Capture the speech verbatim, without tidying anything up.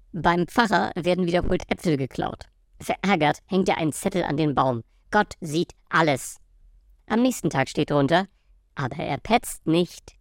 Beim Pfarrer werden wiederholt Äpfel geklaut. Verärgert hängt er einen Zettel an den Baum. Gott sieht alles. Am nächsten Tag steht drunter: Aber er petzt nicht.